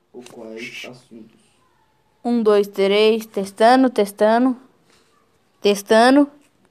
ou quais assuntos? Um, dois, três, testando, testando, testando.